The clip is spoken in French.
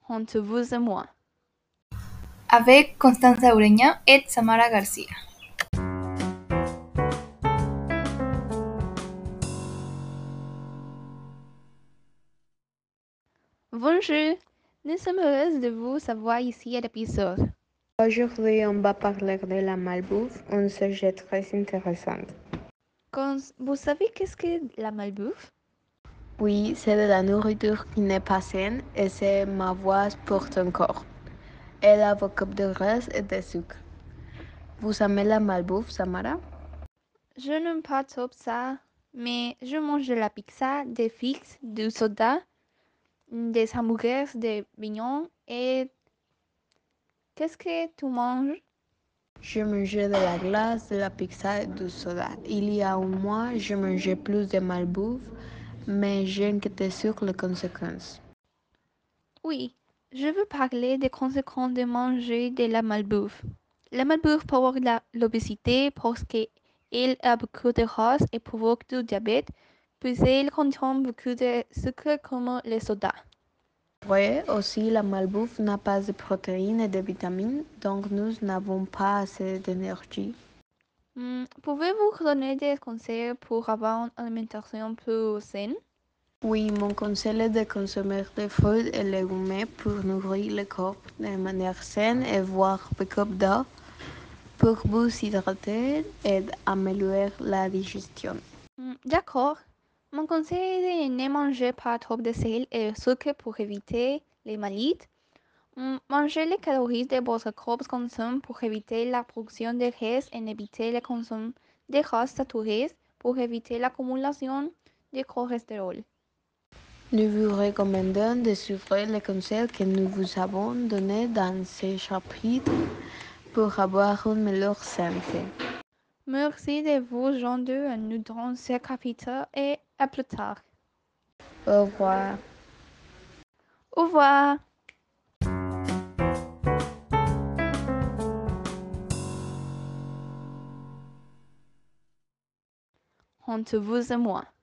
entre vous et moi. Avec Constanza Ureña et Samara García. Bonjour, nous sommes heureuses de vous savoir ici à l'épisode. Aujourd'hui, on va parler de la malbouffe, un sujet très intéressant. Vous savez qu'est-ce que la malbouffe? Oui, c'est de la nourriture qui n'est pas saine et c'est ma voix pour ton corps. Elle a beaucoup de graisse et de sucre. Vous aimez la malbouffe, Samara? Je n'aime pas trop ça, mais je mange de la pizza, des frites, du soda, des hamburgers, des vignons et... Qu'est-ce que tu manges? Je mangeais de la glace, de la pizza et du soda. Il y a un mois, je mangeais plus de malbouffe, mais j'inquiétais sur les conséquences. Oui, je veux parler des conséquences de manger de la malbouffe. La malbouffe provoque l'obésité parce qu'elle a beaucoup de gras et provoque du diabète, puis elle contient beaucoup de sucre comme les sodas. Oui, aussi la malbouffe n'a pas de protéines et de vitamines, donc nous n'avons pas assez d'énergie. Pouvez-vous donner des conseils pour avoir une alimentation plus saine? Oui, mon conseil est de consommer des fruits et légumes pour nourrir le corps de manière saine et boire beaucoup d'eau pour vous hydrater et améliorer la digestion. D'accord. Mon conseil est de ne manger pas trop de sel et de sucre pour éviter les maladies. Mangez les calories de votre corps consomme pour éviter la production de graisse et éviter le consomme de gras saturés pour éviter l'accumulation de cholestérol. Nous vous recommandons de suivre les conseils que nous vous avons donnés dans ce chapitre pour avoir une meilleure santé. Merci de vous joindre à nous dans ce chapitre et à plus tard. Au revoir. Au revoir. Entre vous et moi.